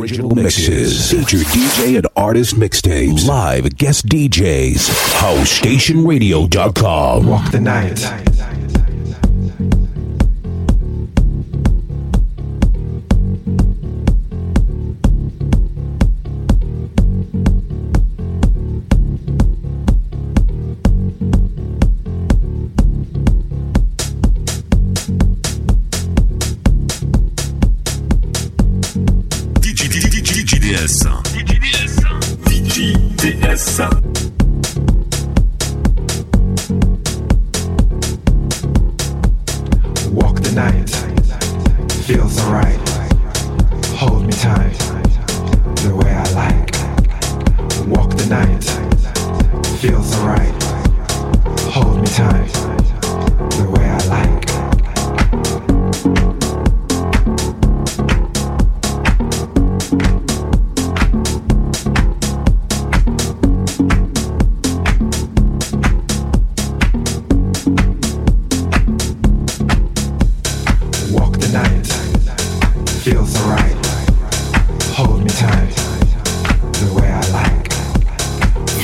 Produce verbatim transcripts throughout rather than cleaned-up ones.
original mixes. Feature D J and artist mixtapes. Live guest D Js. house station radio dot com. Walk the night. Walk the night, feels alright. Hold me tight, the way I like. Walk the night, feels alright. Hold me tight, the way I like. Feels alright. Hold me tight, the way I like.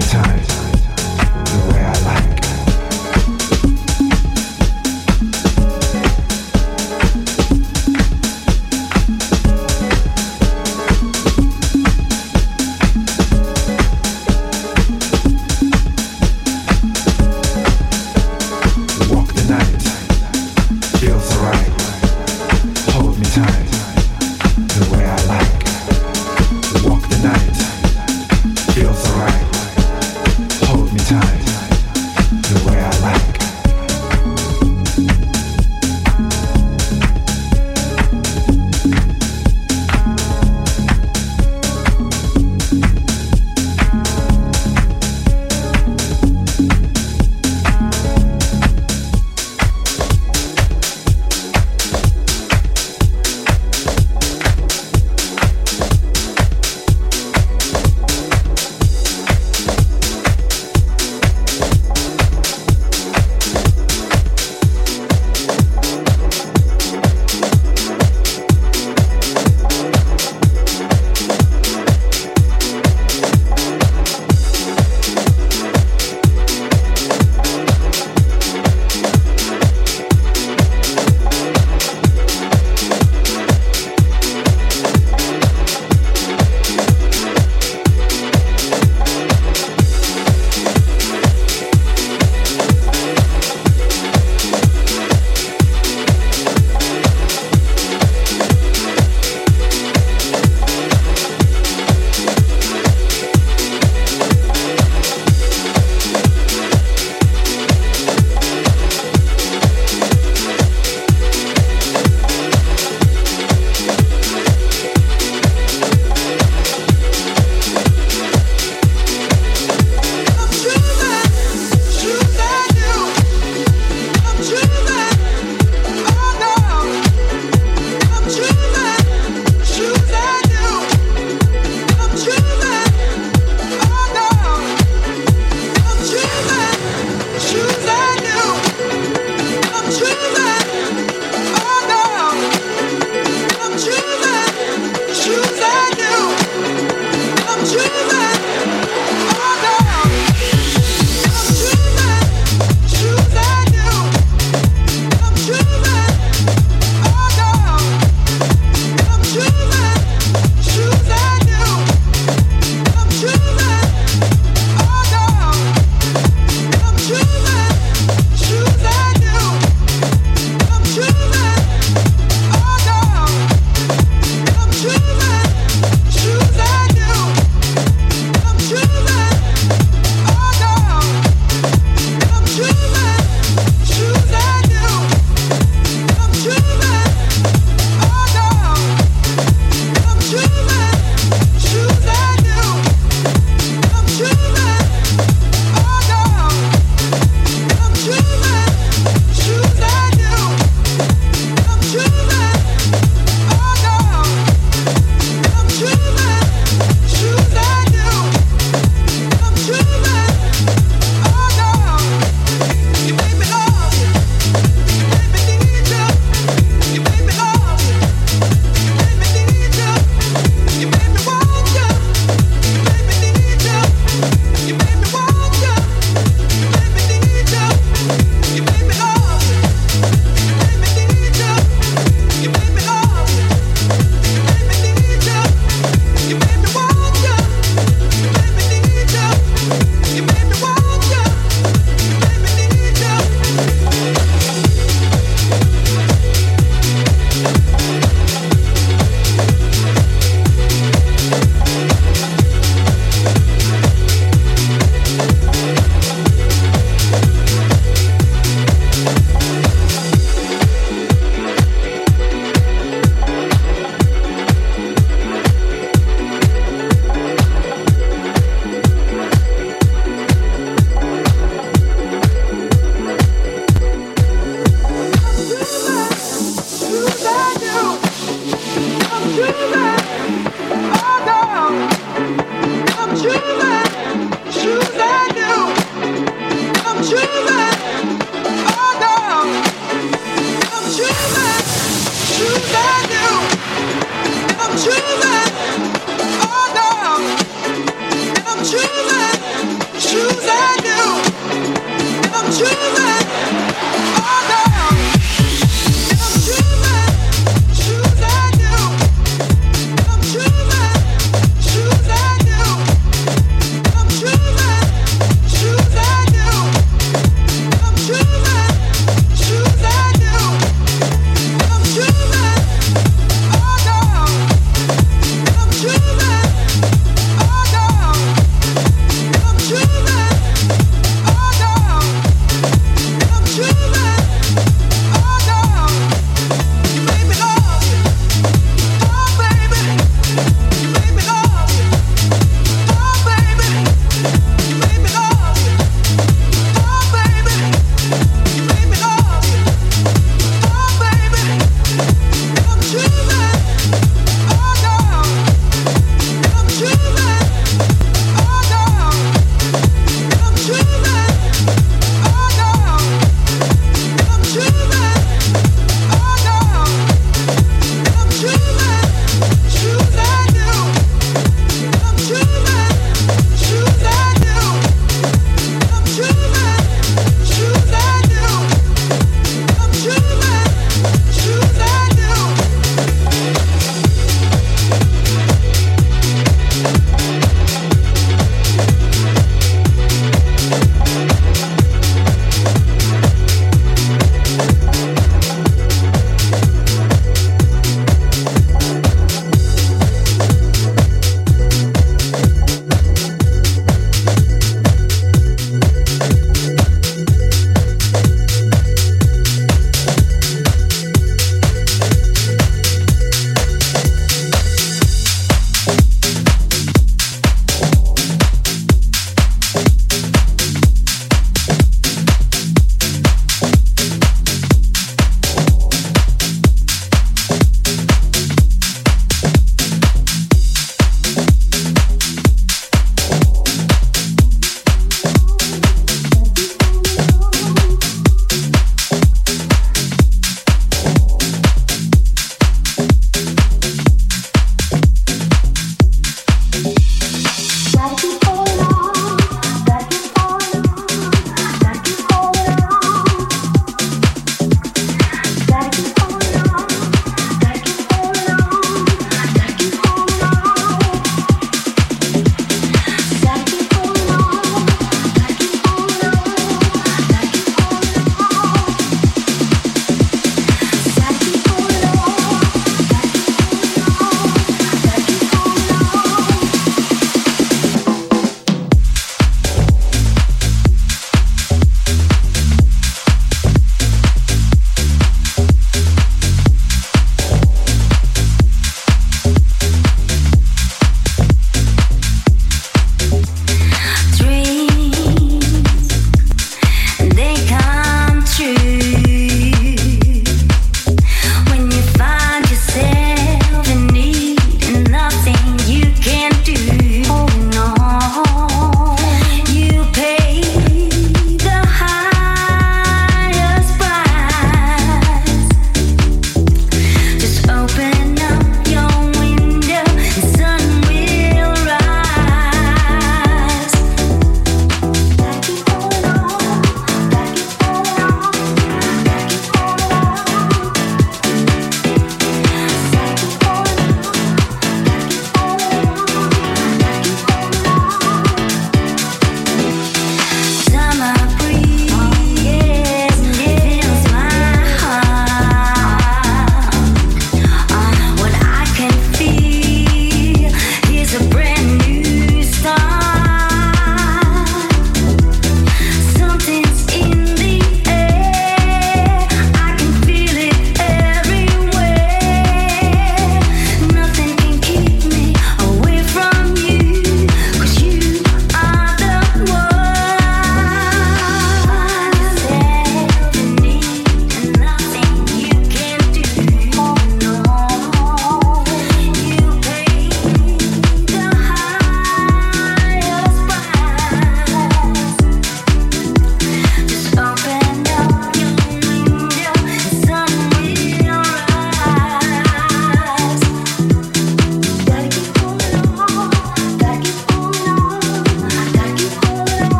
choosing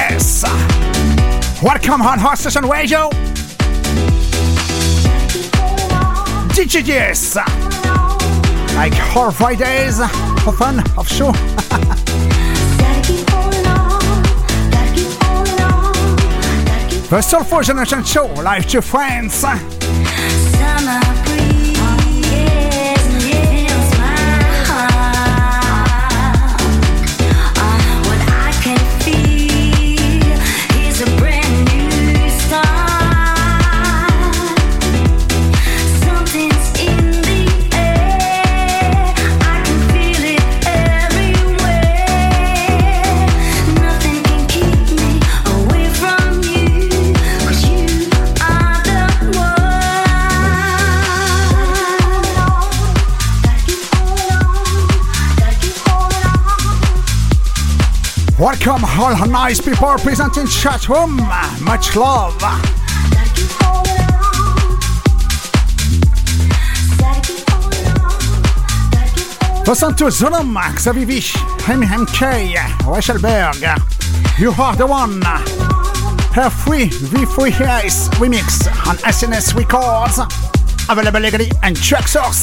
Yes. Welcome on Hot Station Radio. D J D S. Like all Fridays, for fun, of show. The Soulful Generation Show, live to friends. Summer breeze, fills my heart. Uh, what I can feel is a brand new start. Something's in the air, I can feel it everywhere. Nothing can keep me away from you. Welcome all nice people present in chat room. Much love. Listen to Zulum, Xavier Vich, M M K, Weichelberg. You are the one. Her free V three Ice remix on S N S Records. Available legally and track source.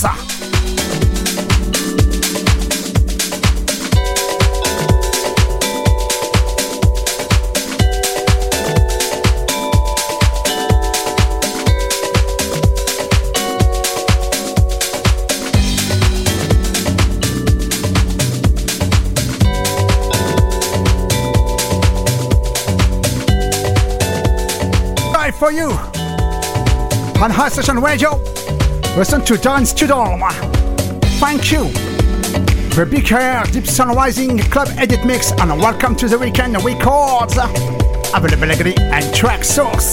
For you on Hot Station Radio, listen to Dance to Dawn. Thank you. The Big Hair Deep Sun Rising Club Edit Mix and Welcome to the Weekend Records. Available legally and track source.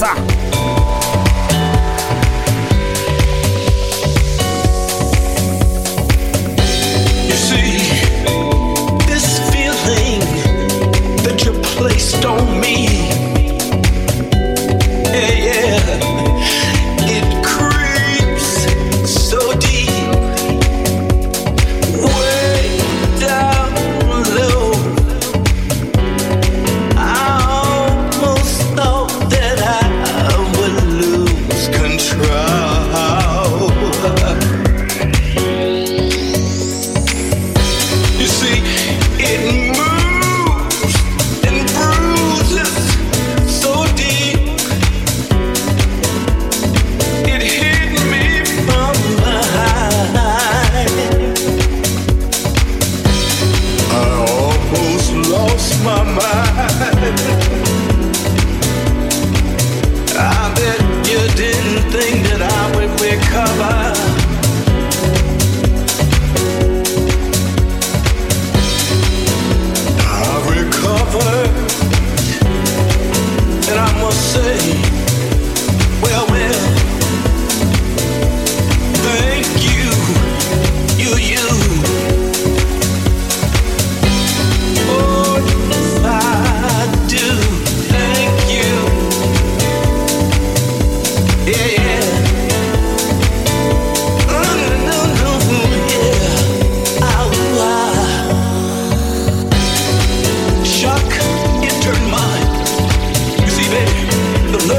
You see, this feeling that you placed on me. Yeah, yeah, it creeps so deep, way down low. I almost thought that I would lose control. You see, it moves and bruises so deep. My mind, I bet you didn't think that I would recover. I've recovered, and I must say, well, well, thank you, you, you. The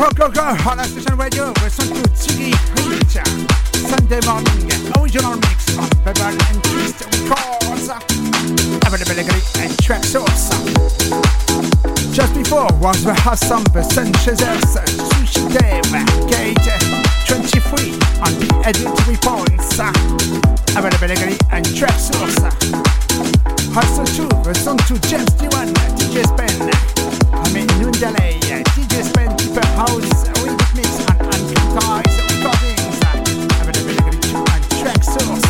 Go, go, go, on la station radio, listen to Ziggy Rich, Sunday morning, original mix on Pebble and Twist Records, available and track source. Just before was the awesome The Sun Chasers, Sushi Dave, Gate twenty-three on the Edit Reports, available and track source. Also too, the song to James Dewan, D J Spen, I mean Noondale, D J Spen, Deeper House, Remix Mix on Uncut Recordings, available to and track source.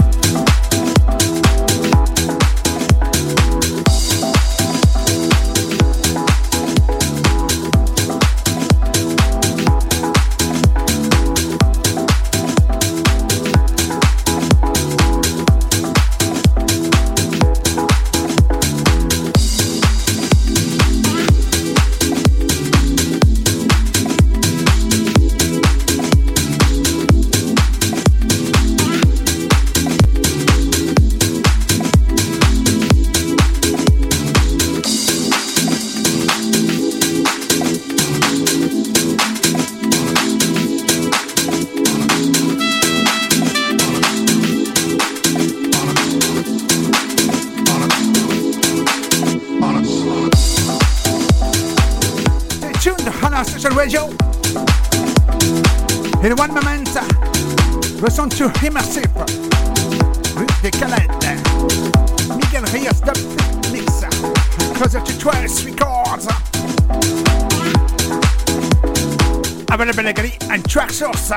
Radio. In one moment, listen to Immersive, Ruth de Calette, Miguel Reyes Dub Mix, Closer to twelve Records, available and track source.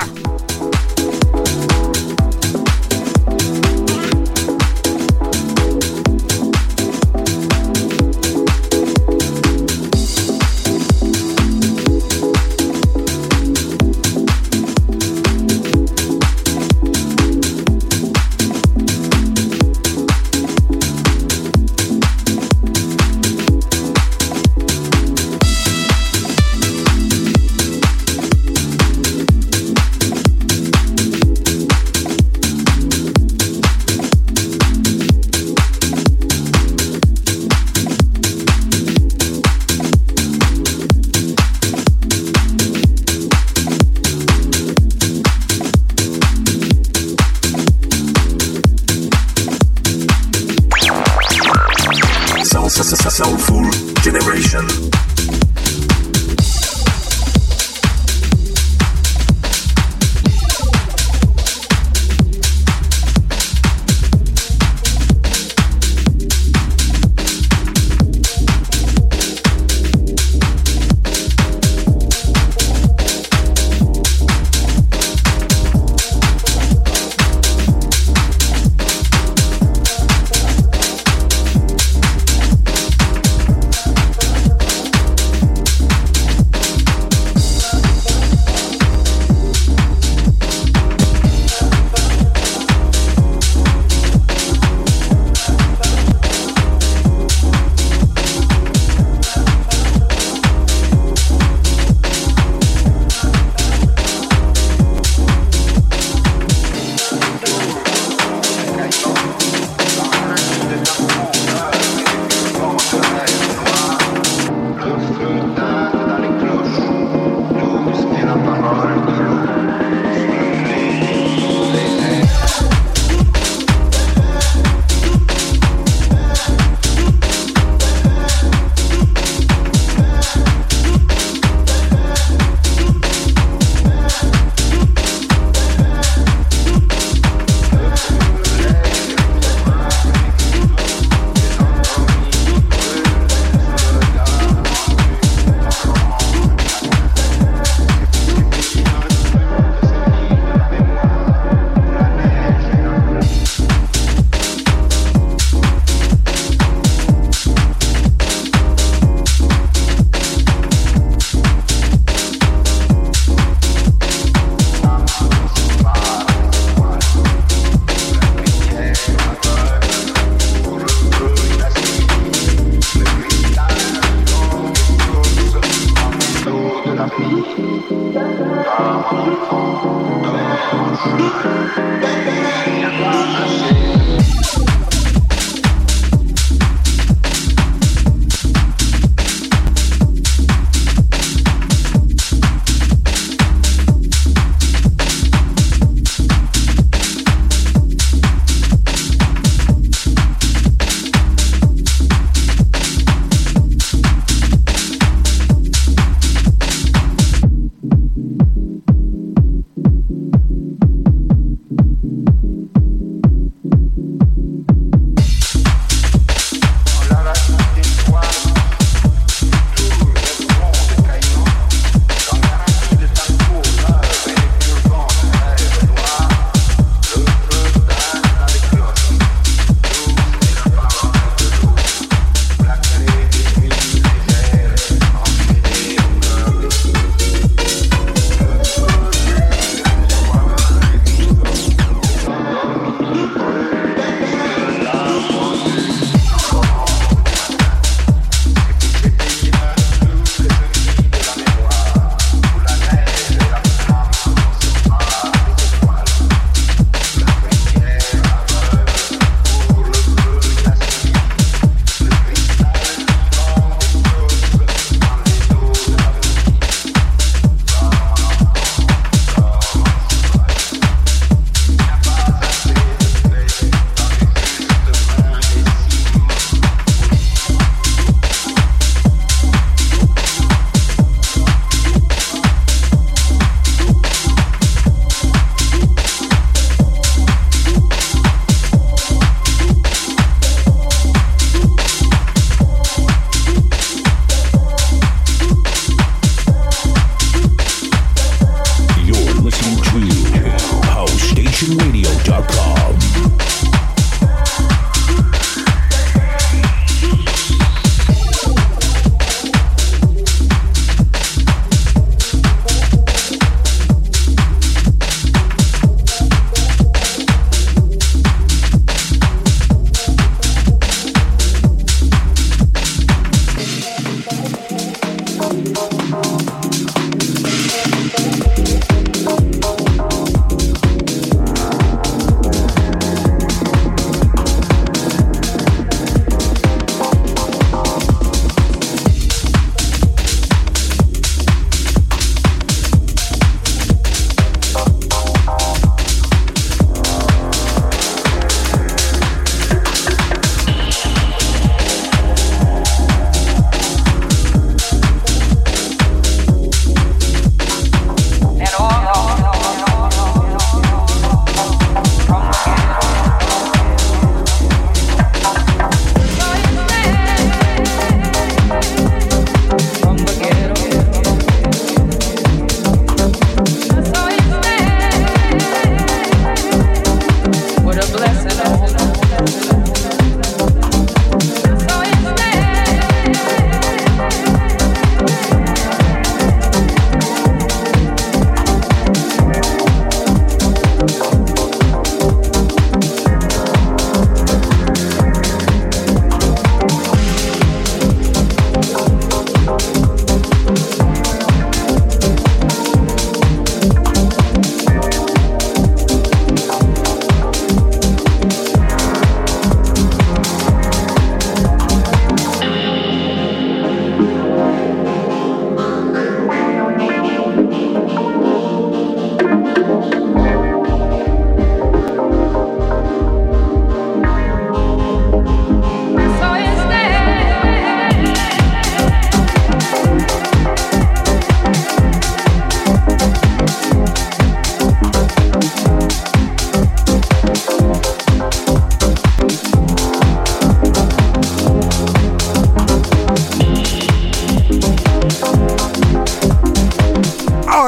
Soulful Generation.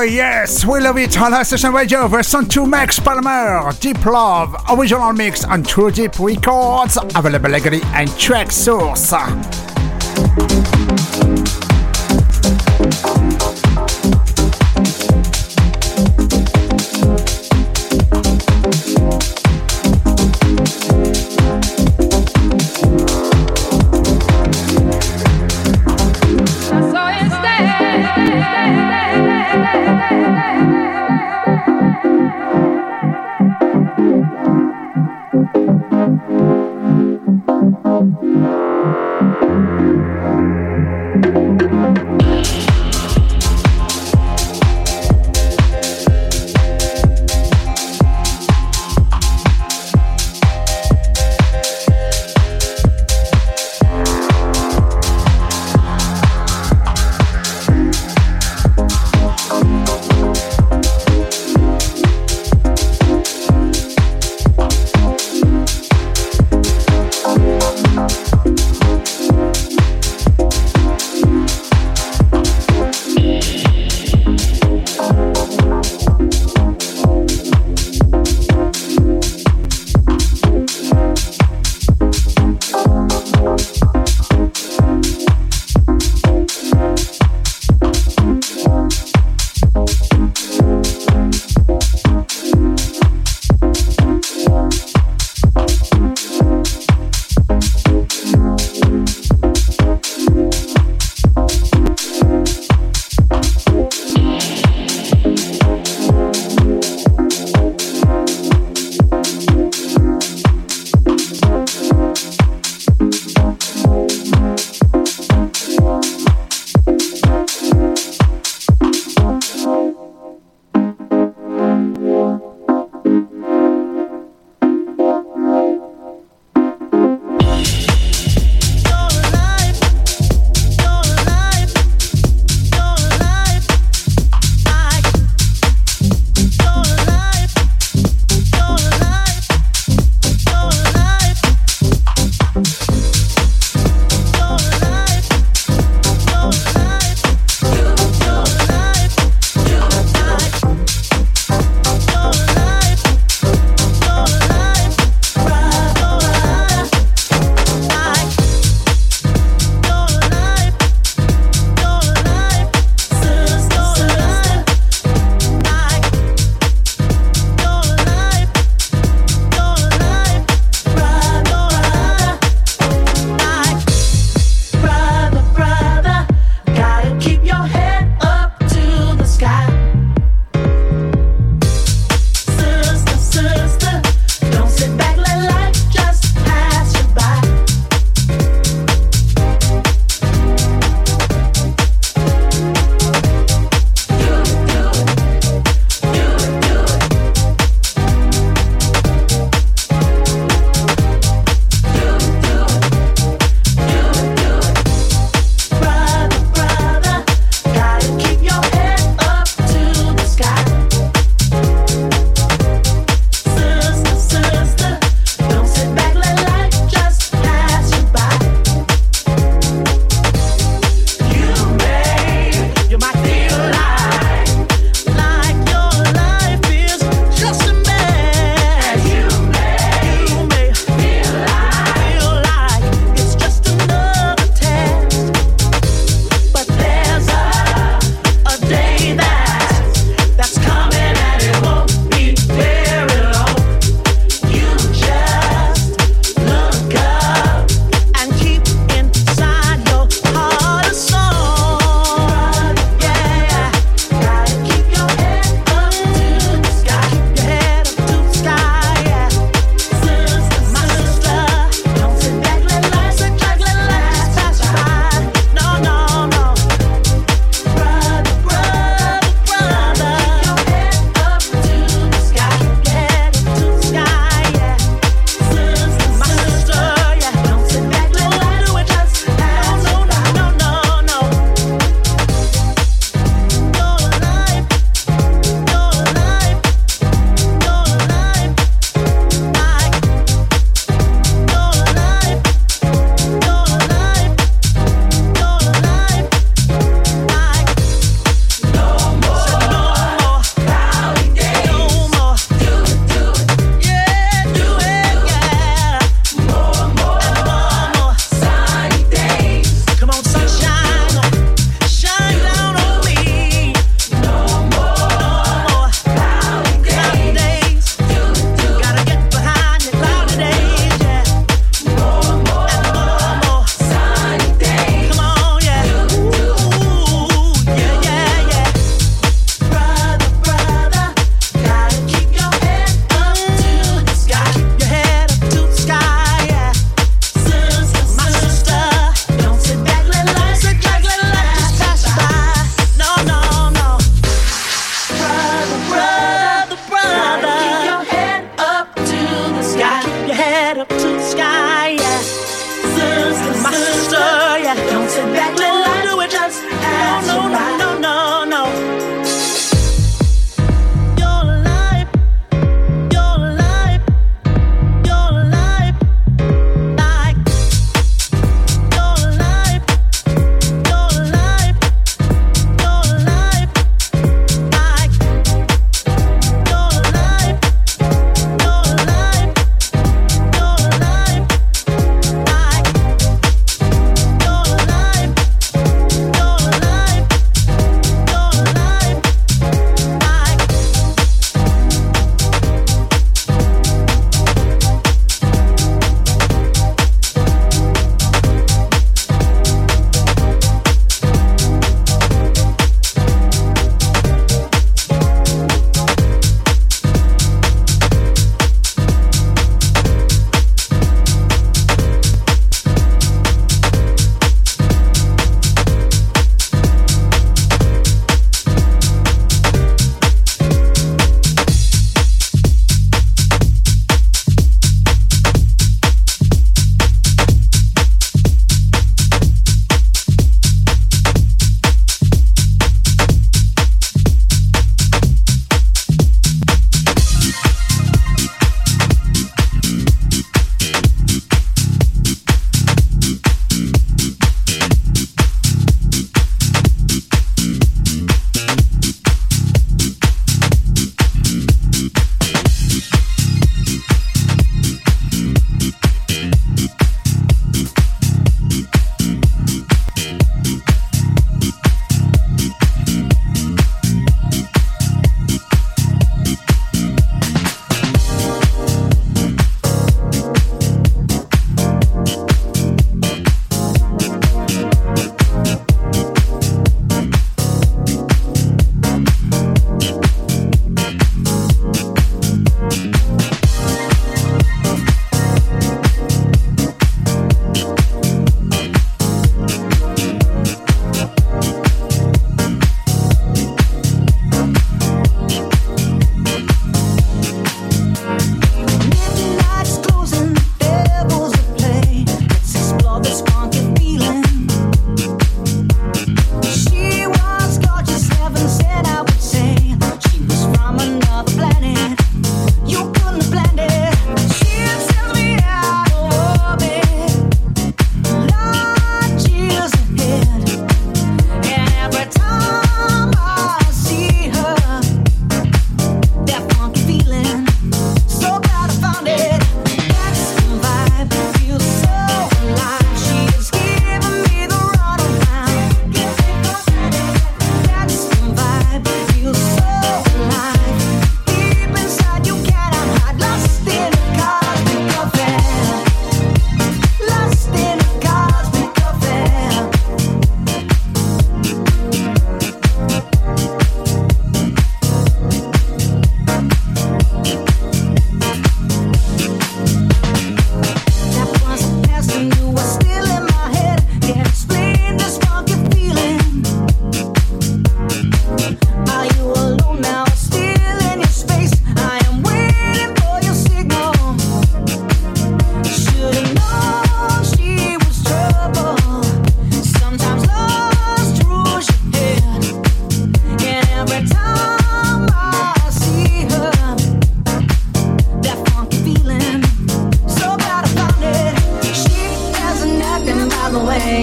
yes, we love it on High Station Radio. Version two Max Palmer, Deep Love, original mix on True Deep Records, available legally and track source. Thank you.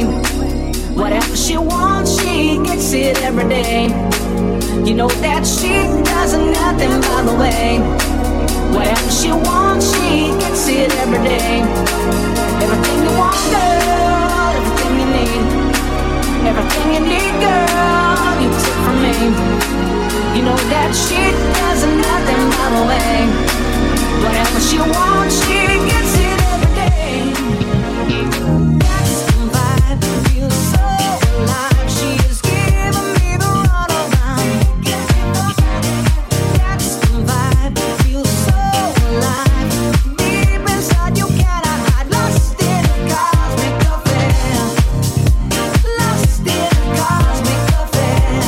way. Whatever she wants, she gets it every day. You know that she does nothing by the way. Whatever she wants, she gets it every day. Everything you want, girl, everything you need. Everything you need, girl, you take from me. You know that she does nothing by the way. Whatever she wants, she gets it every day. That's the vibe, feels so alive. She is giving me the runaround. That's the vibe, feels so alive. Deep inside you cannot hide. Lost in a cosmic affair. Lost in a cosmic affair.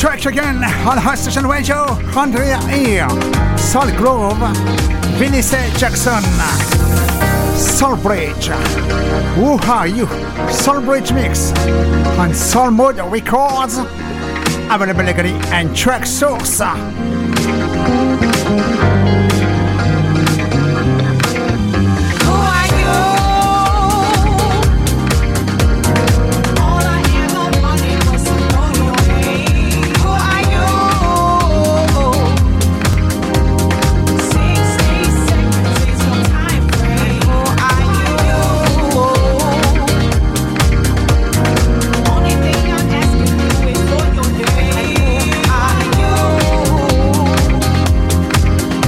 track again on Hot Station Radio. Andrea here, Soul Grove, Vinnie Jackson, Soul Bridge. Who are you? Soul Bridge mix on Soul Mode Records. Availability and track source. Only thing I'm asking you is for your name.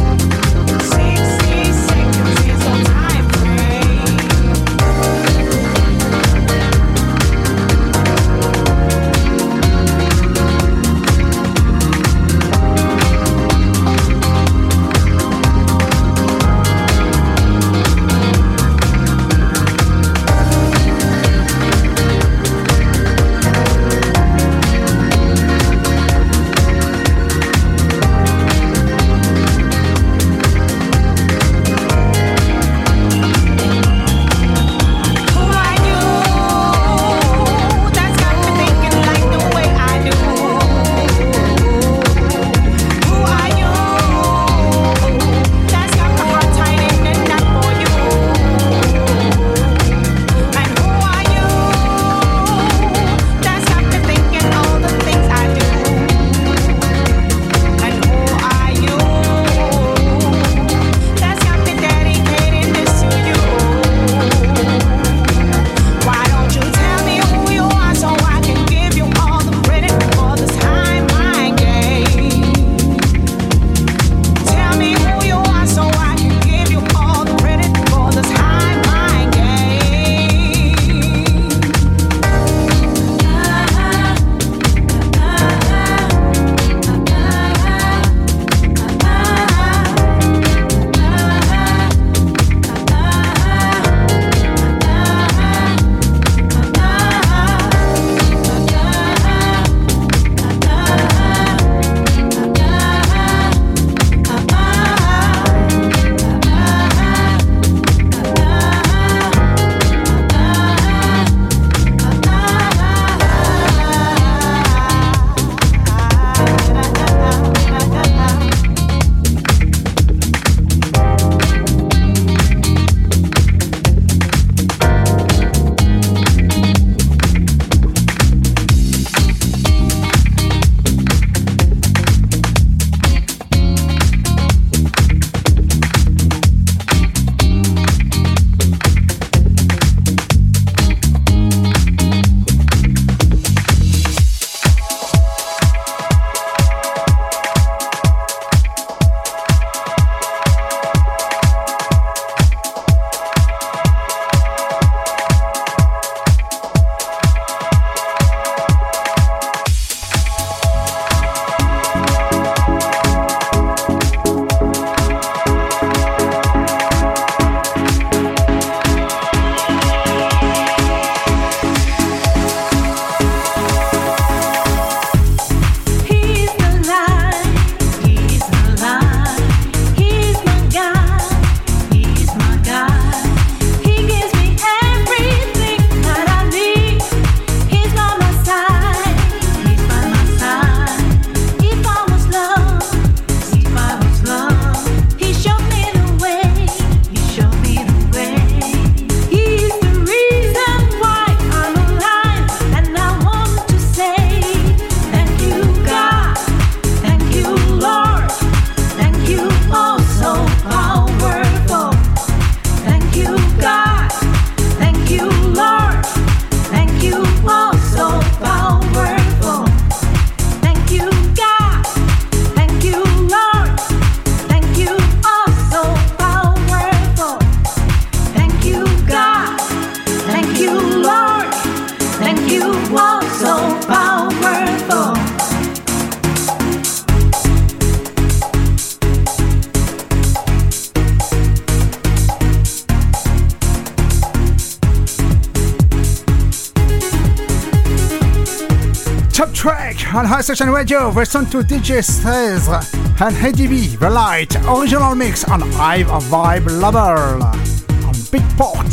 Top track on High Station Radio, listen to D J Says and Eddie B, The Light, original mix on Hive Vibe Level on Beatport.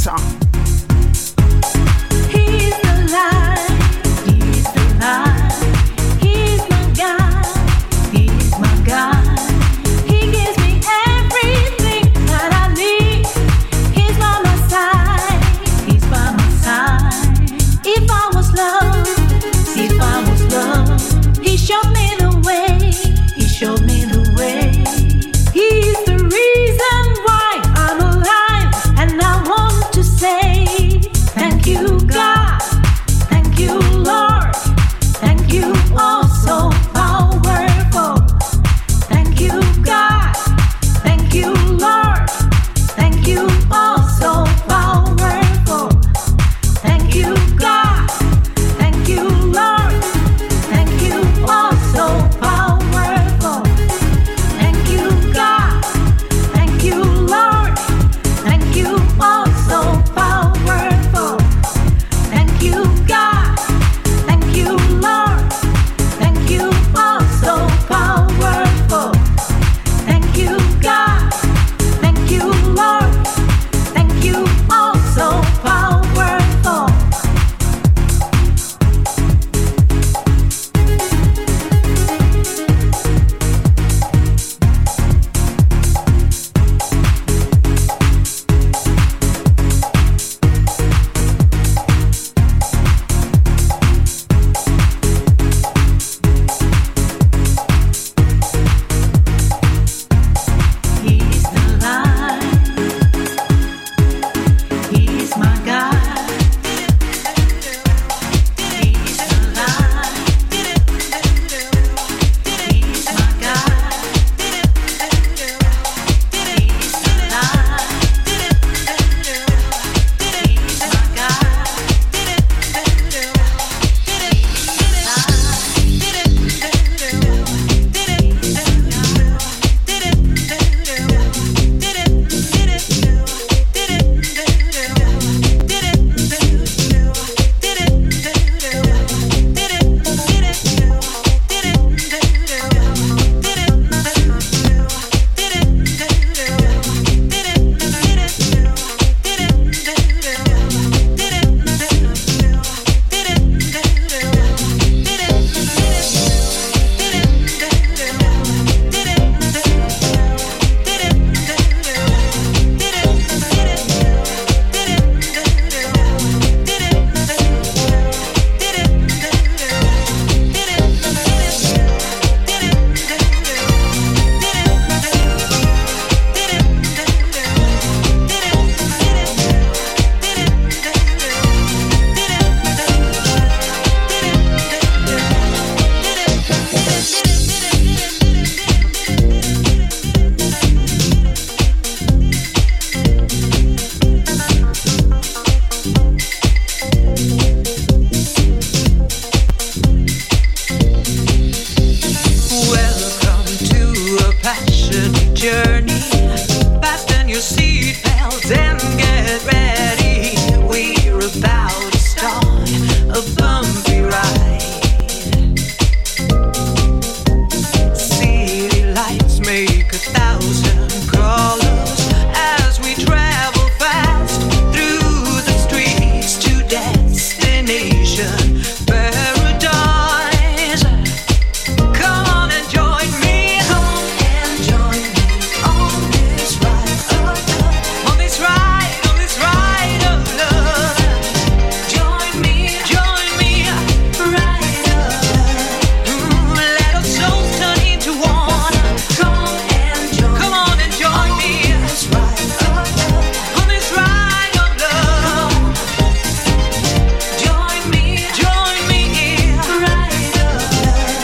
He's the light, he's the light, he's my God, he's my God. He gives me everything that I need. He's by my side, he's by my side. If I was loved, if I was loved, he showed me the way, he showed me the way. He's the reason why I'm alive, and I want to say thank you, God, thank you, Lord, thank you, oh so powerful. Thank you, God, thank you, Lord, thank you, oh so powerful. Thank you, God, thank you, Lord, thank you, oh so powerful. Thank you, God, thank you, Lord, thank you, oh so powerful. Thank you, God, thank you, Lord, thank you, oh so powerful. Thank you, God, thank you, Lord, thank you, oh so powerful. He's the light, he's my God. He's the light, he's my God. He's the light, he's my God. Welcome to a passionate journey. Fasten your seatbelts and get ready. We're about to start a bumpy ride. City lights make a thousand colors as we travel fast through the streets to destination paradise. Come on and join me, come and join me on this ride of love, on this ride, on this ride of love. Join me, join me, ride of love. Ooh, let our souls turn into one. Come and join, come on and join me on this ride of love, on this ride of love. Join me, join me, ride of love.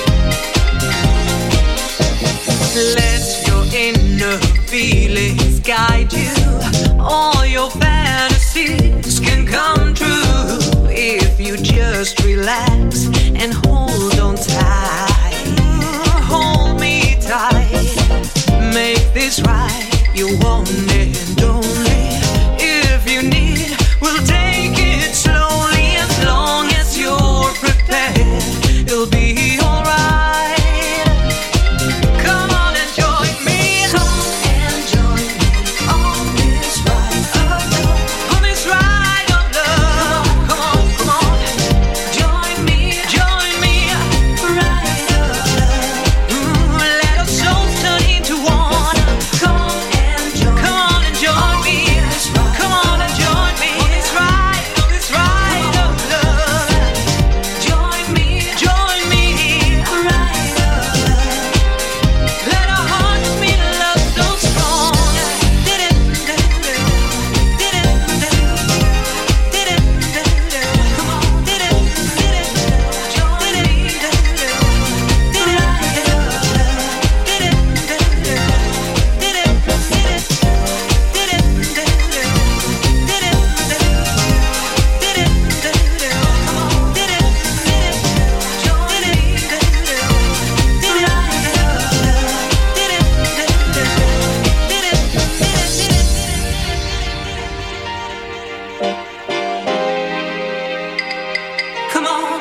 Let your inner feelings guide you. All your fantasies can come true if you just relax and hold on tight. Hold me tight. Make this right. You want and only. If you need, we'll take it slowly as long as you're prepared.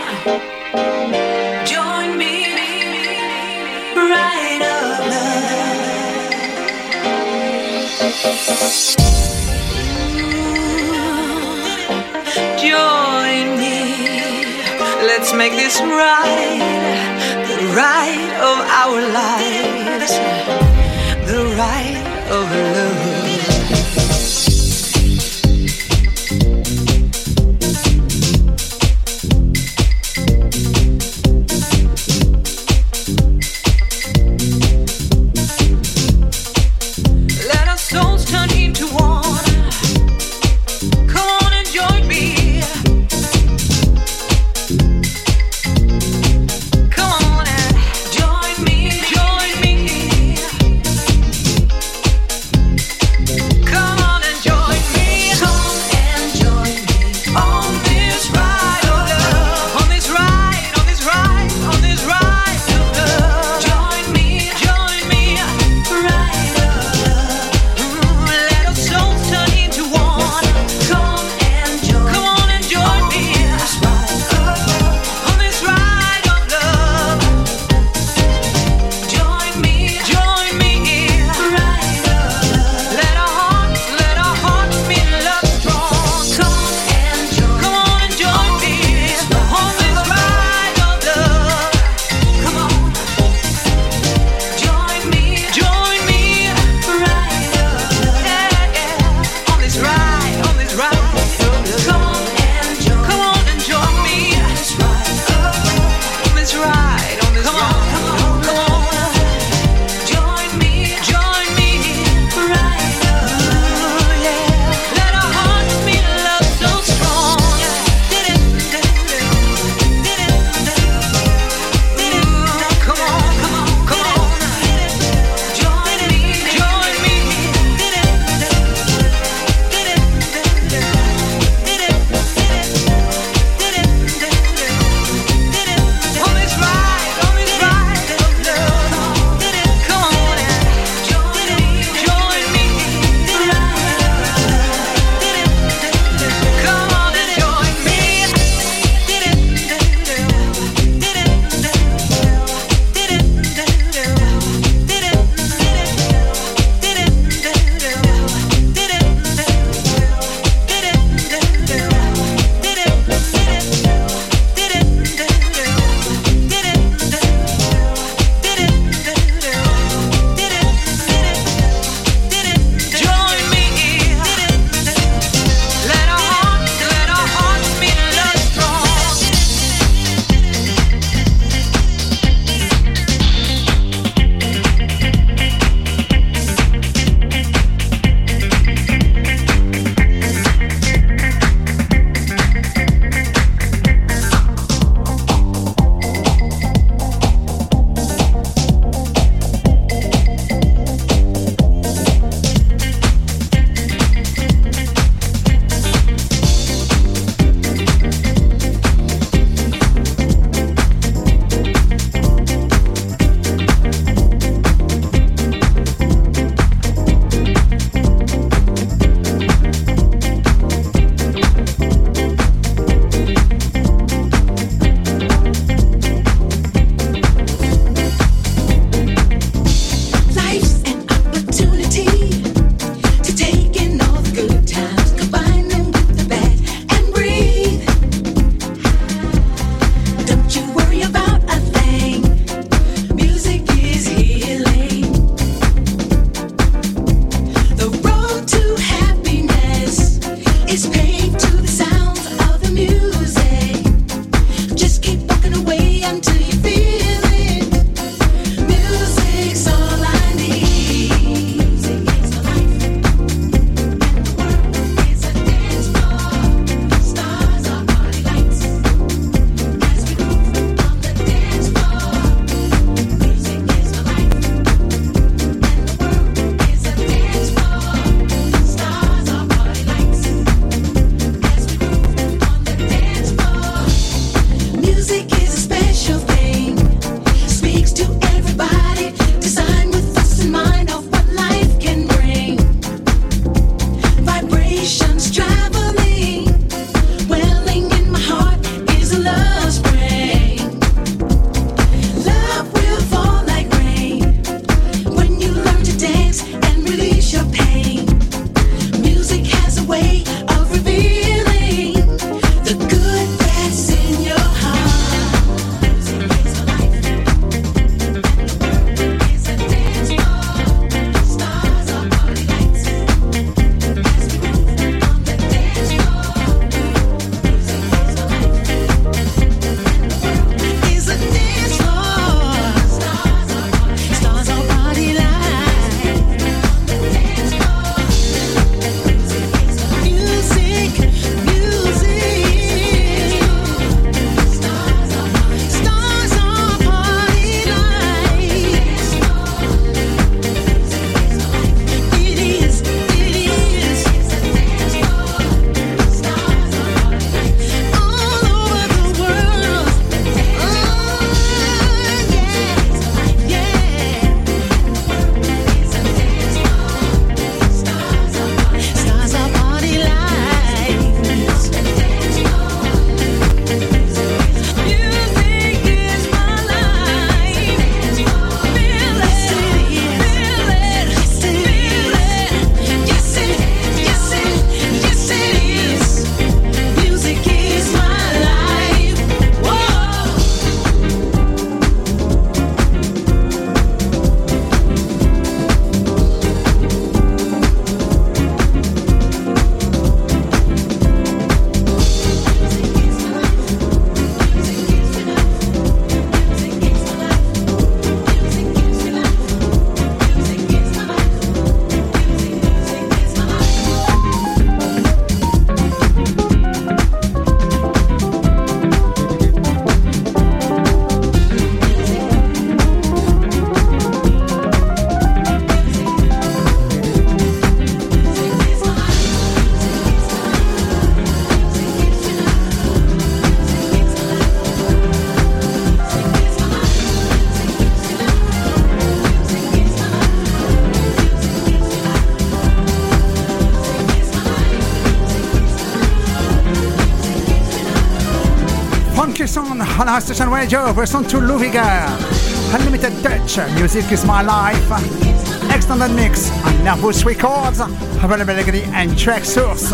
Join me, ride of love. Join me, let's make this ride the ride of our lives, the ride of love. Music is a special thing. on our station radio. Version to Luviger. Unlimited Touch. Music is my life. Extended mix on Nervous Records. Availability and track source.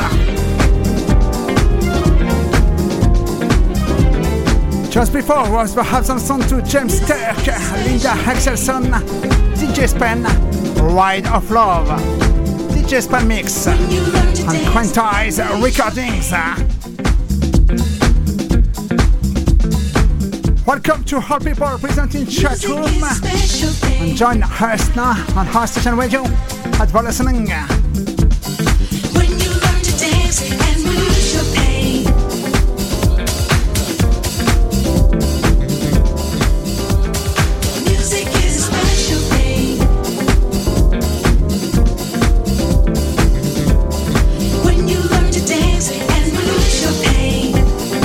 Just before was perhaps some song to James Turk, Linda Axelson, D J Spen, Ride of Love, D J Spen mix, and Quantize Recordings. Welcome to all people present in chat room, and join us now on our station radio at Vollistening. When you learn to dance and lose your pain. Music is a special thing. When you learn to dance and lose your pain.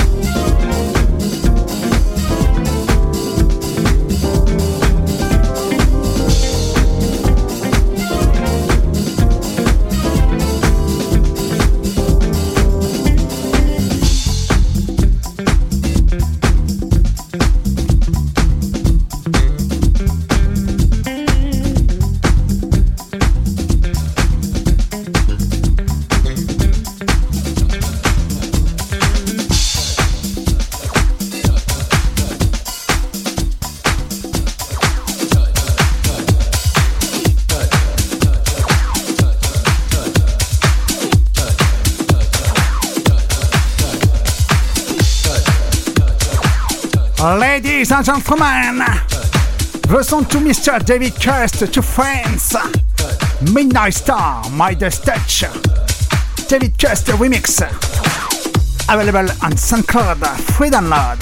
Ladies and gentlemen, the song to Mister David Kirst to France, Midnight Star, Midas Touch, David Kirst remix, available on SoundCloud, free download.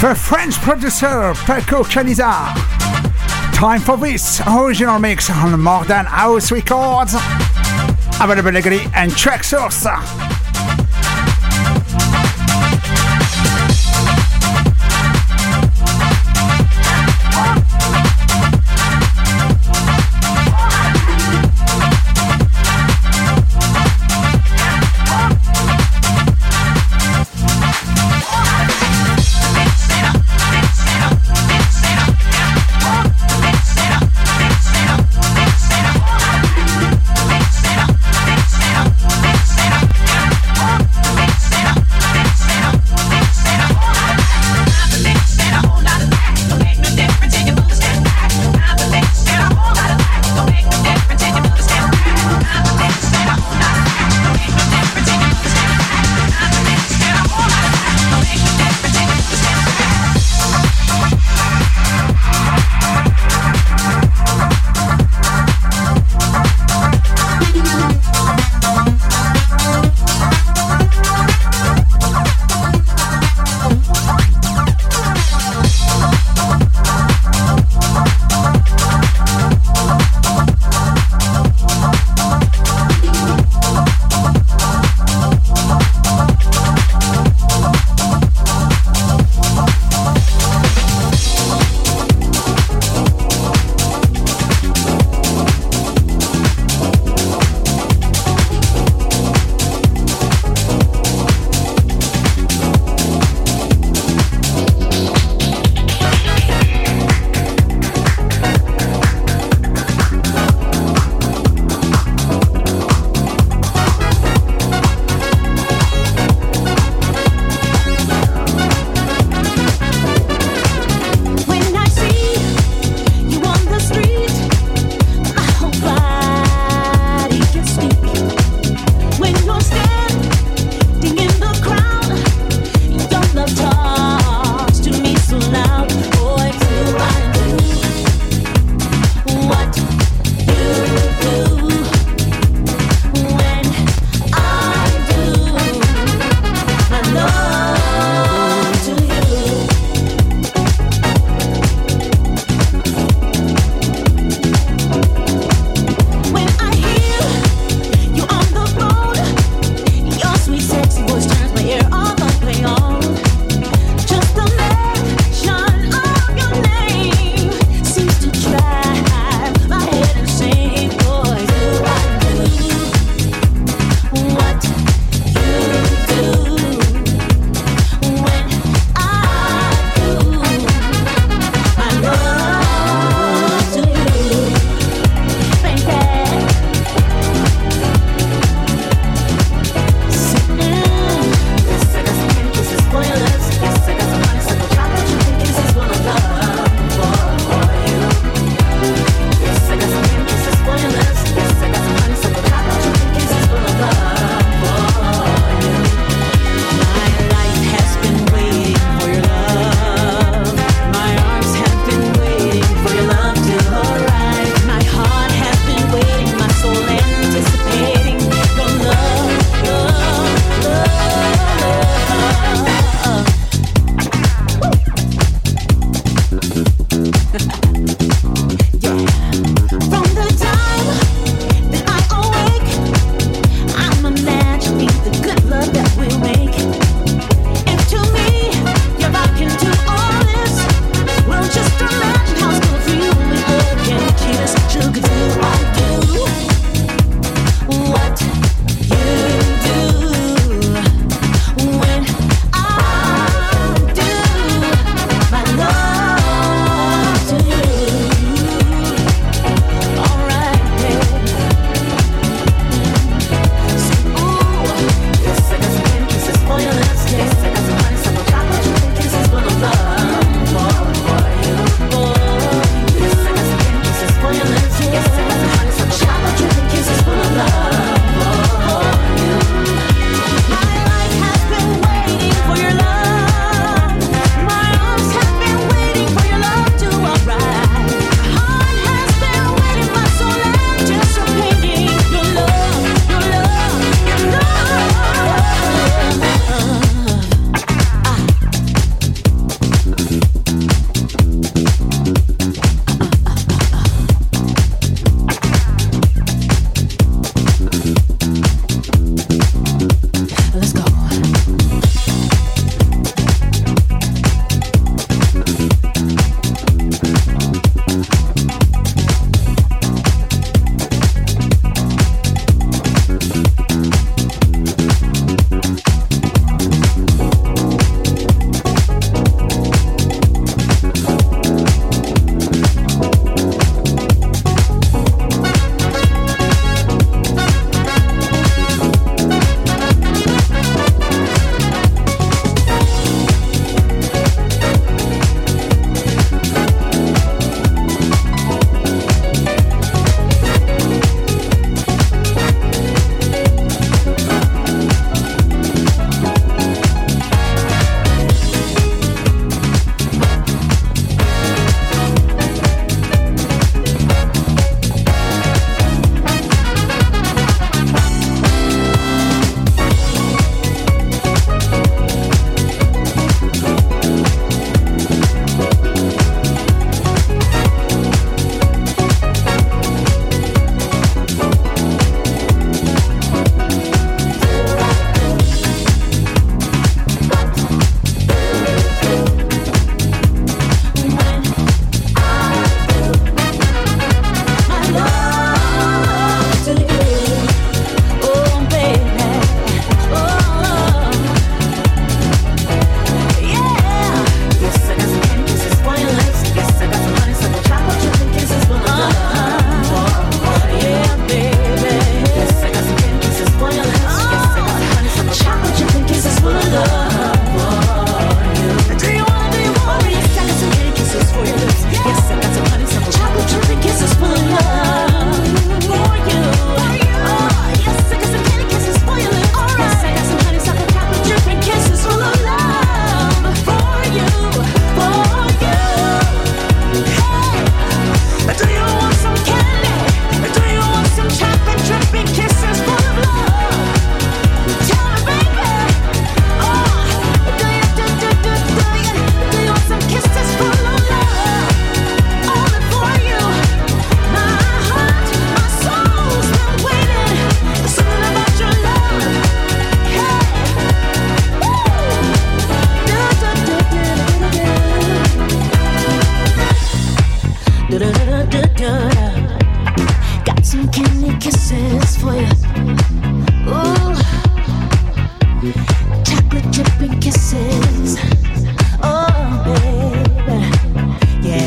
The French producer Paco Caniza. Time for this original mix on Modern House Records. Available legally and Traxsource. Mix it up, mix it up, mix it up, mix it up. chocolate dripping kisses. Oh, baby, yeah.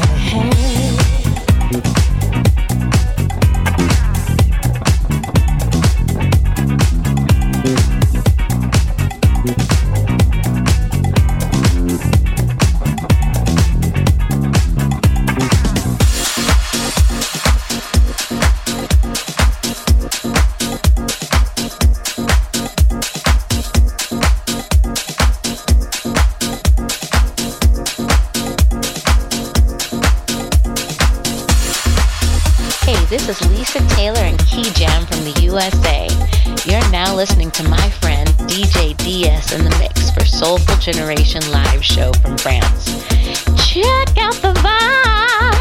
This is Lisa Taylor and Key Jam from the U S A. You're now listening to my friend D J D S in the mix for Soulful Generation live show from France. Check out the vibe!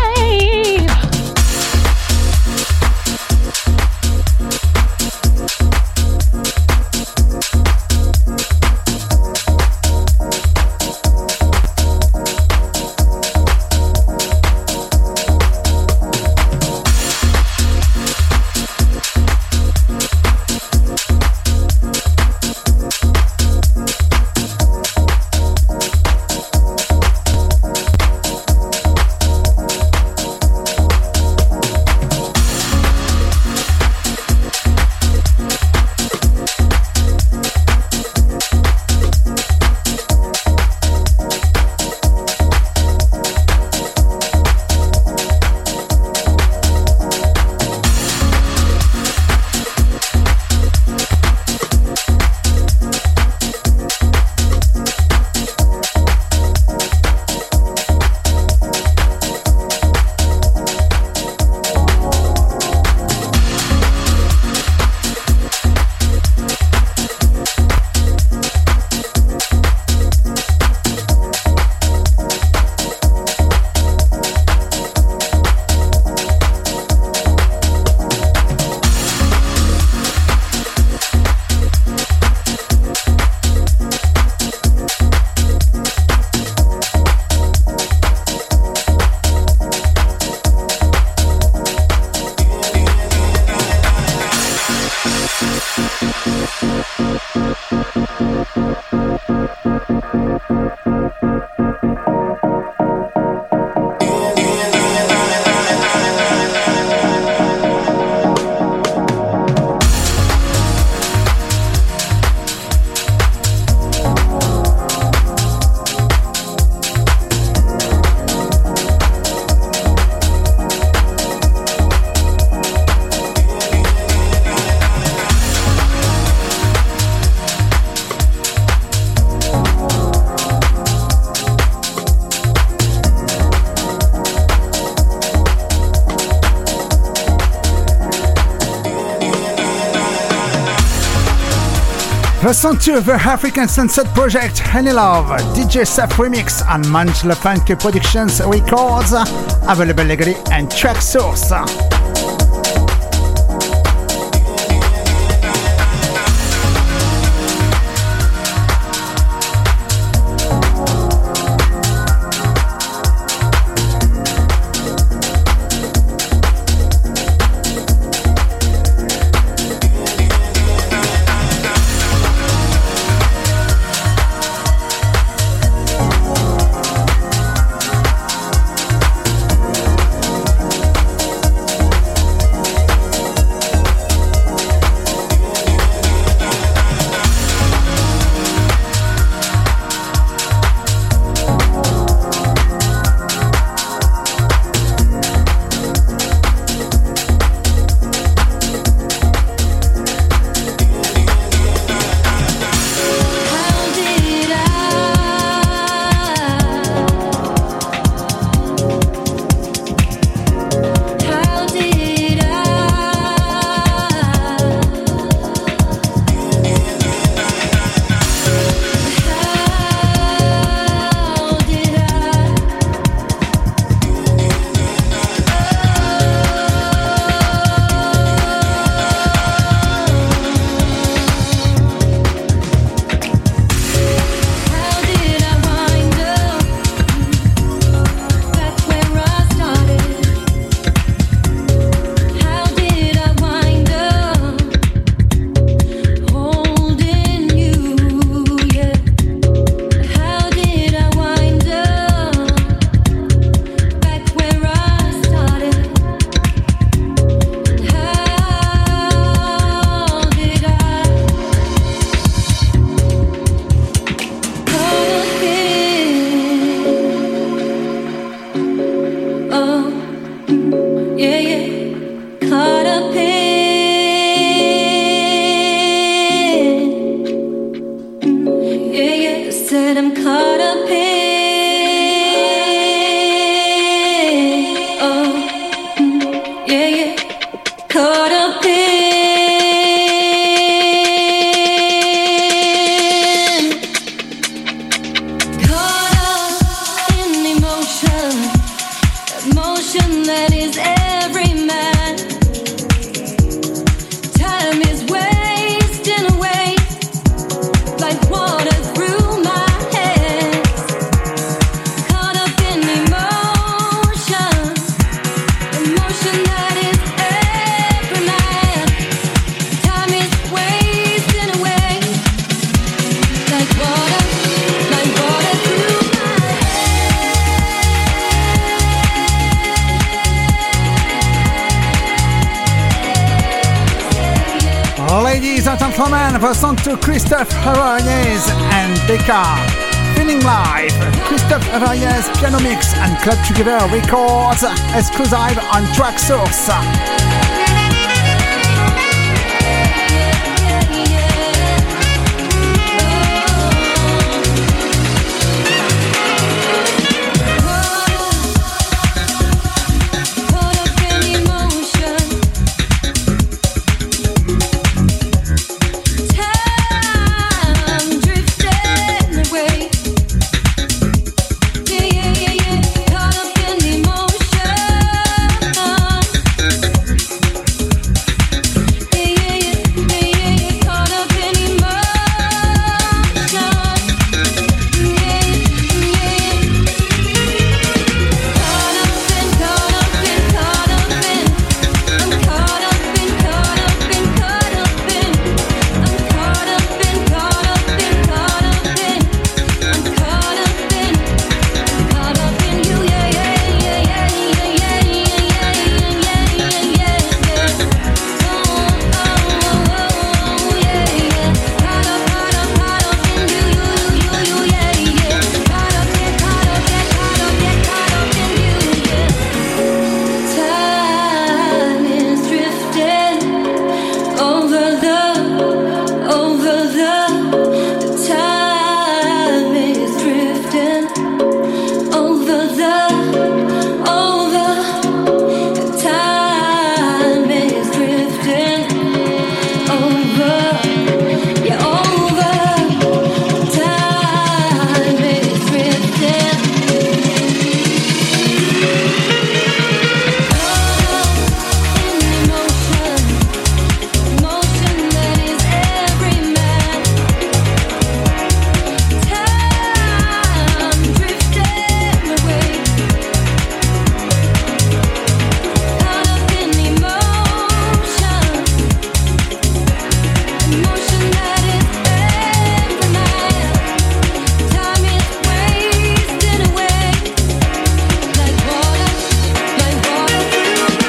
Listen to the African Sunset Project, Honey Love, D J Seth Remix and Manj Le Funk Productions Records, available legally and track source. that I'm caught up in. Oh, mm, yeah, yeah, caught up in. Caught up in emotion, emotion that is every man. Time is wasting away like water through my hands. Caught up in emotion, emotion that is every man. Time is wasting away like water, like water through my Ladies and gentlemen, listen to Christophe Arayes and Becca. Feeling Live, Christophe Arayes Piano Mix and Club Together Records, exclusive on Track Source. caught up in emotion. Time drifting away. Yeah, yeah, yeah, yeah. Caught up in emotion. Yeah, yeah, yeah, yeah, yeah, yeah. Caught up in emotion. Yeah, yeah, yeah. Caught up in, caught up in, caught up in. I'm caught up in, caught up in, caught up in. I'm caught up in, caught up in, caught up in. I'm caught up in, caught up in you, yeah, yeah, yeah, yeah, yeah, yeah, yeah, yeah, yeah, yeah, yeah. Oh, oh, oh, yeah, yeah. Caught up, caught up, caught up in you, you, you, you, yeah, yeah. Caught up, yeah, caught up, yeah, caught up, yeah, caught up in you, yeah. Time is drifting over the, over the. Time is drifting over the, over. Time is drifting over, yeah, over. Time is drifting. Emotion, emotion that is every man. Time drifting away. Caught up in emotion, emotion that is every man. Time is wasting away like water, like water through my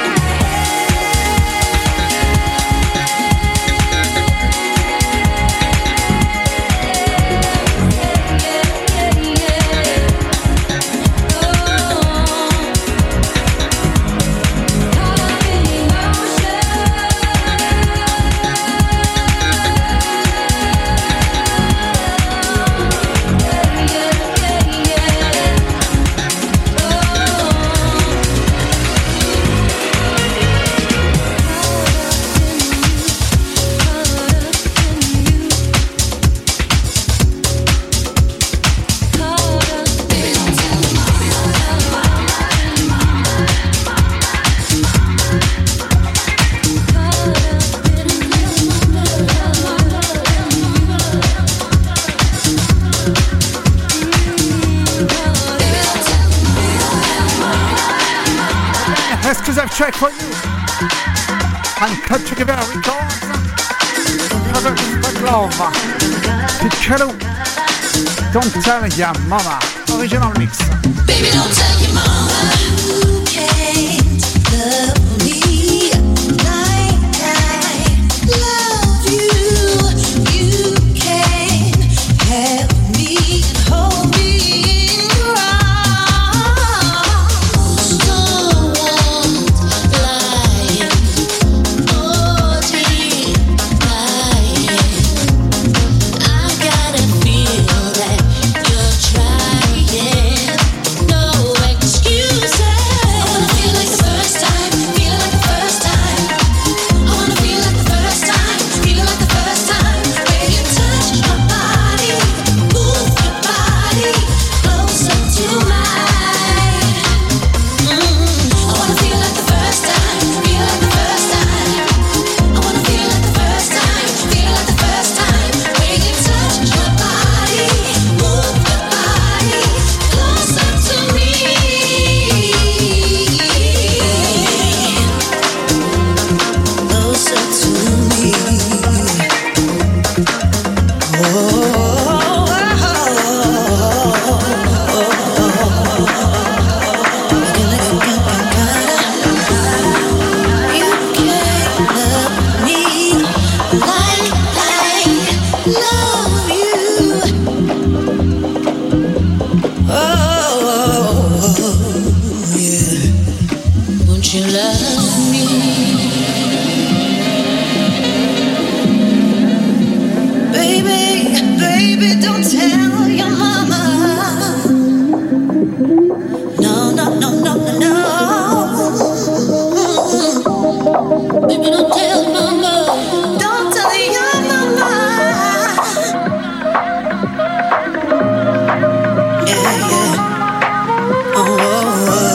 Exclusive track for you and Club Together Records. Another Respect Love. Piccolo, Don't Tell Ya Mama. Original mix. Baby, don't tell your mama you can't love me like I love you. You can have me and hold me in your arms. Someone lying or denying. I gotta feel that tell your mama. No, no, no, no, no, no. Baby, don't tell mama. Don't tell your mama. Yeah, yeah. Oh, oh, oh.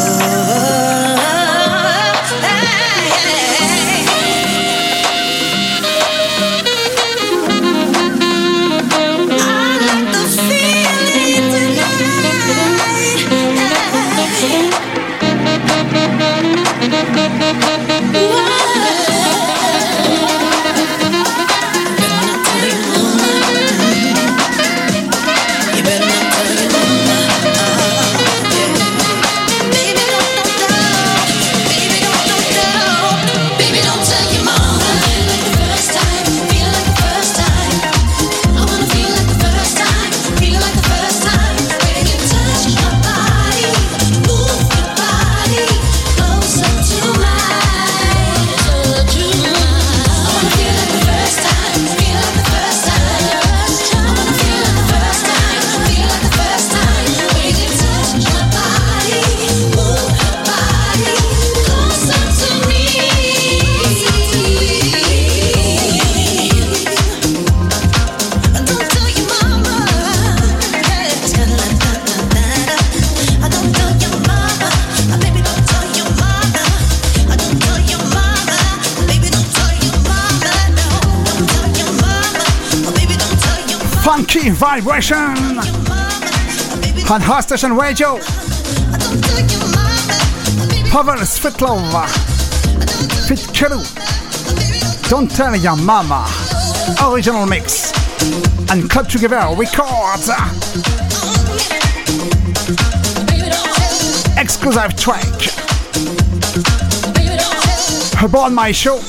Funky vibration on Hot Station Radio. Pavel Svetlov, Fit Kelu, Don't Tell Your Mama, original mix, and Club Together Records. Exclusive track. Aboard my show.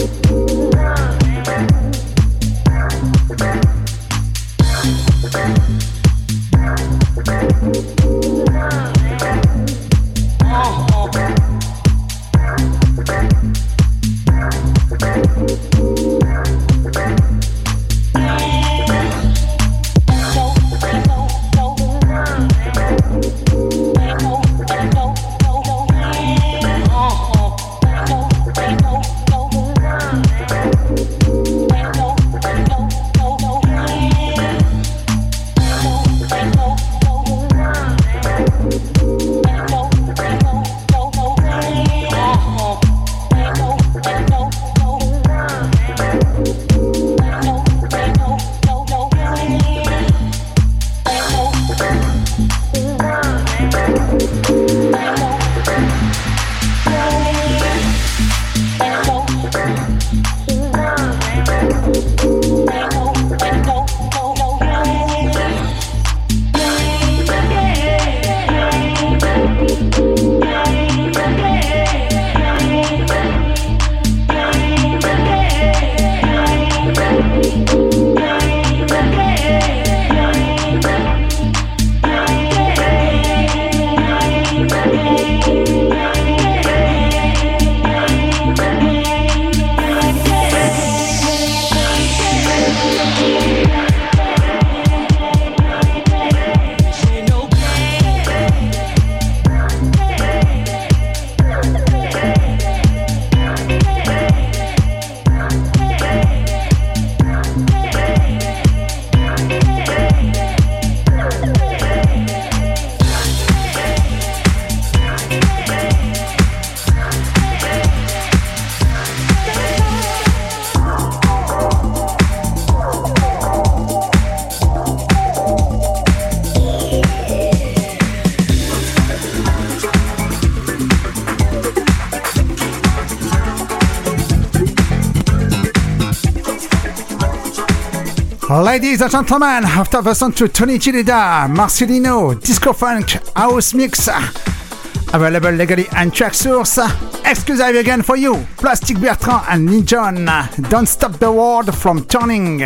Ladies and gentlemen, after the song to Tony Chirida, Marcelino, Disco Funk, House Mix, available legally and track source, exclusive again for you, Plastic Bertrand and Ninjon, Don't Stop the World from Turning,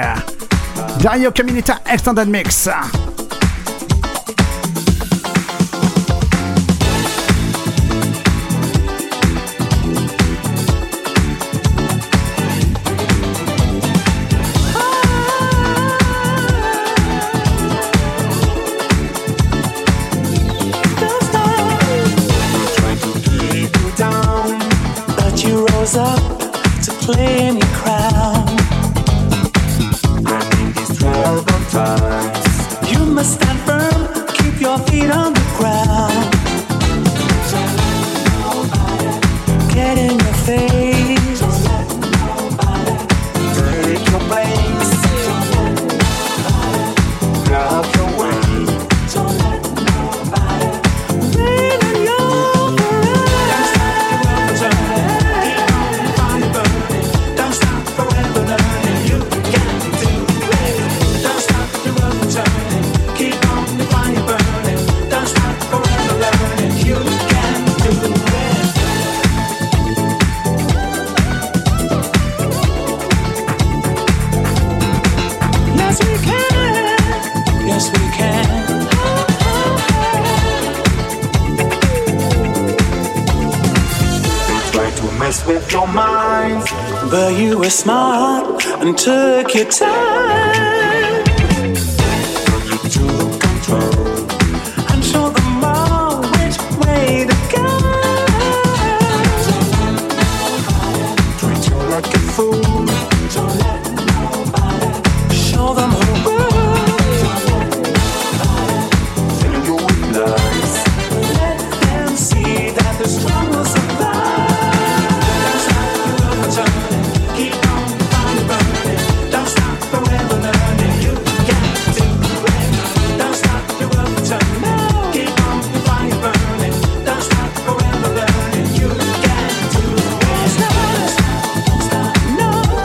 Dario Caminita Extended Mix. Up to claim your crown. Running these twelve times. You must stand firm, keep your feet on the ground. Get in your face. Take your place. Grab your way. With your mind, but you were smart and took your time. You took control and showed them all which way to go. Treat you like a fool. Don't let nobody show them who rules. Fill you with lies. Let them see that the strong will survive. No.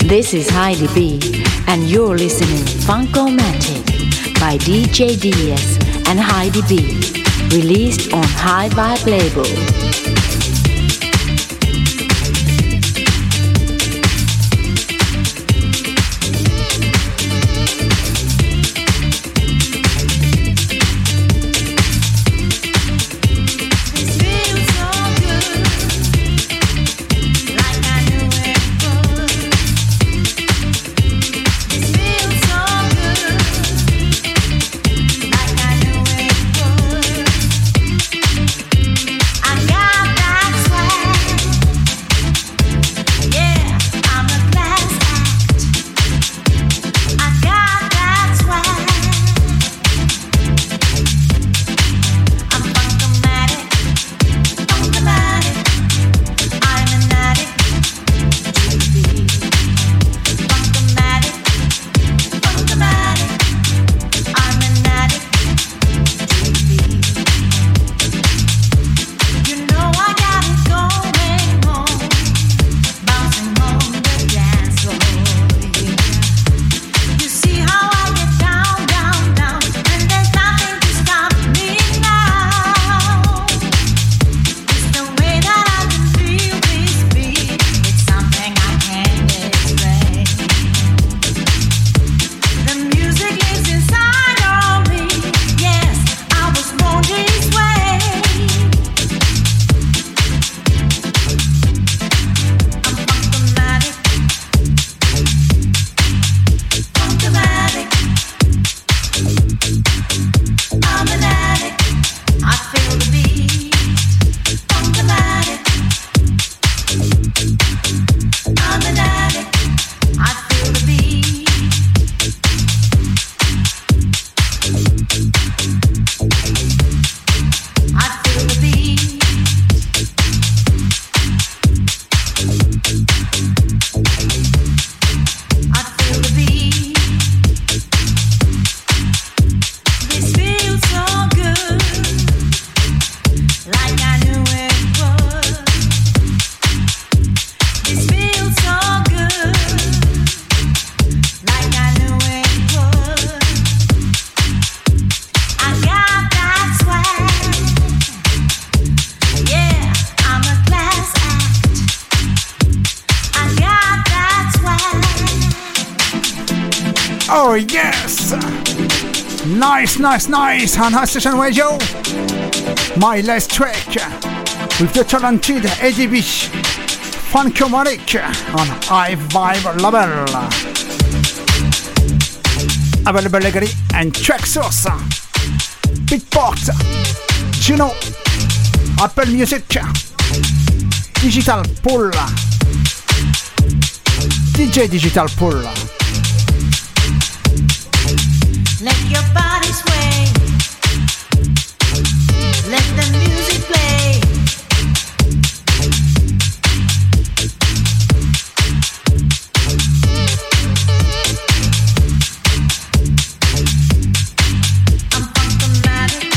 This is Heidi B, and you're listening Funkomatic by D J D S and Heidi B, released on High Vibe label. Oh yes! Nice, nice, nice on High Station Radio. My last track with the talented Eddie B, Funkomatic on High Vibe label. Available legally and track source Beatport, Juno, Apple Music, Digital Pool, D J Digital Pool. Let your body sway. Let the music play. I'm Funkomatic.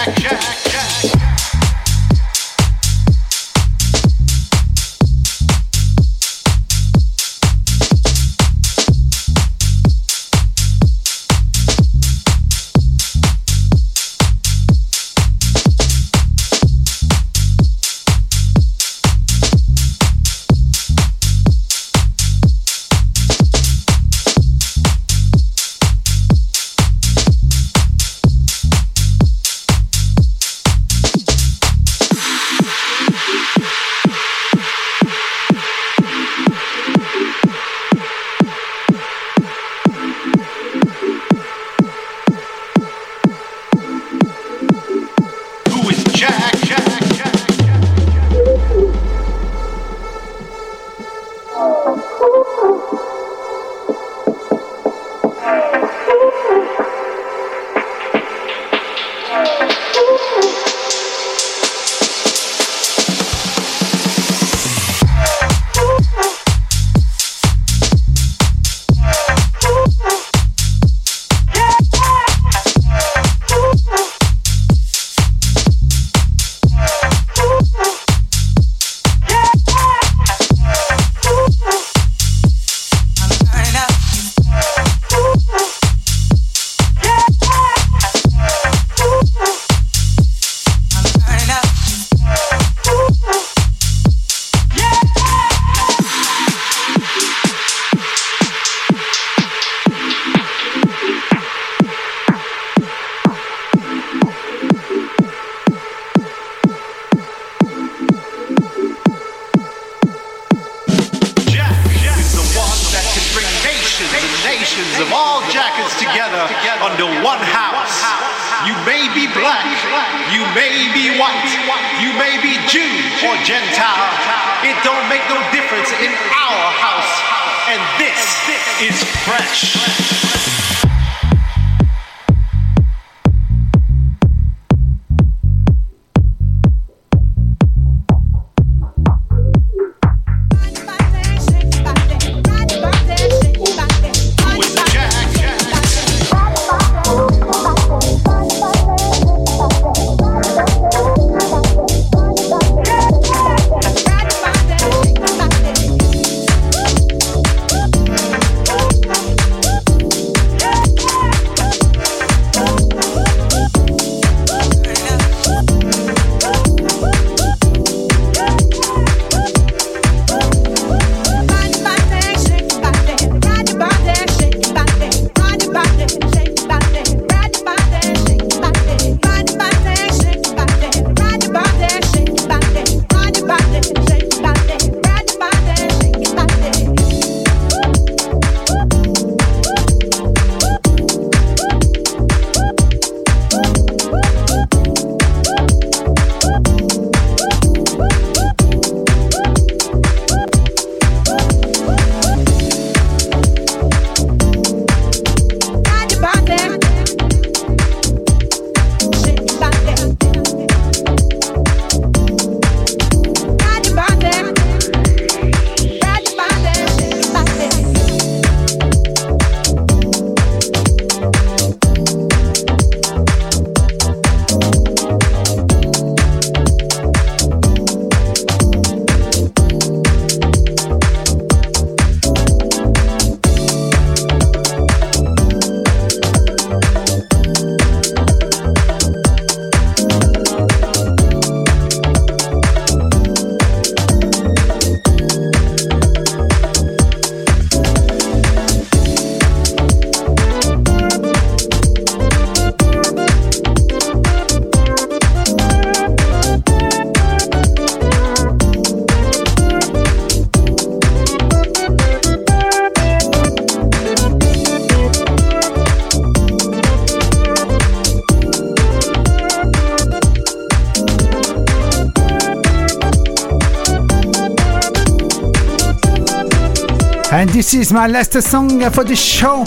And this is my last song for the show.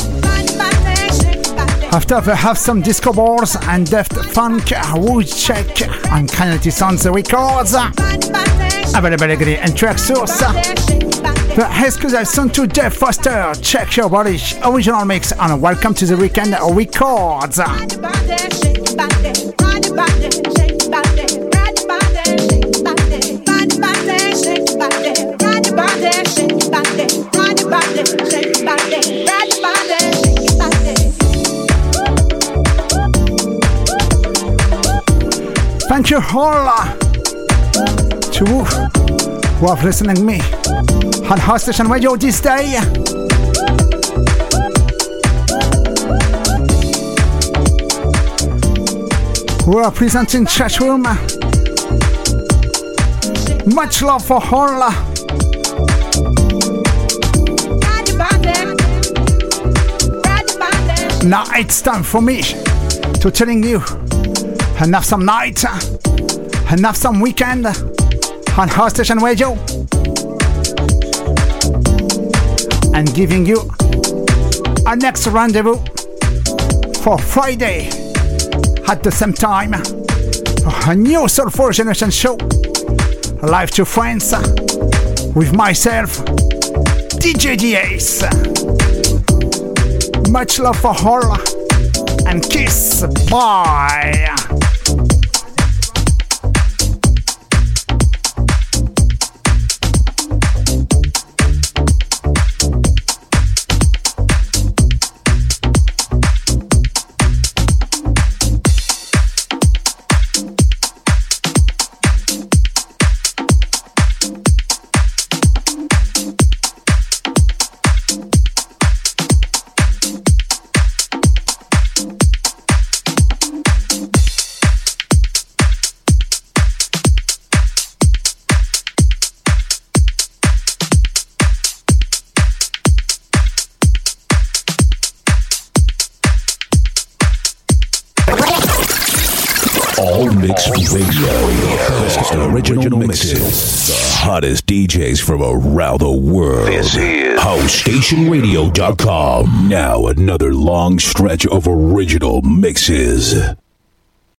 After we have some disco balls and Deft Funk, Wood Check on Canality Sounds Records. Available and track source. The exclusive song to Jeff Foster, Check Your Body, original mix on Welcome to the Weekend Records. Thank you all uh, to who, who have listening to me on House Station Radio this day. Who are presenting chat room. Much love for all. Uh, Now it's time for me to telling you and have some night and have some weekend on House Station Radio and giving you a next rendezvous for Friday at the same time for a new Soulful Generation show live to friends with myself, D J D S. Much love for all and kiss. Bye. Mix Radio, best original mixes, the hottest D Js from around the world. This is house station radio dot com. Now another long stretch of original mixes.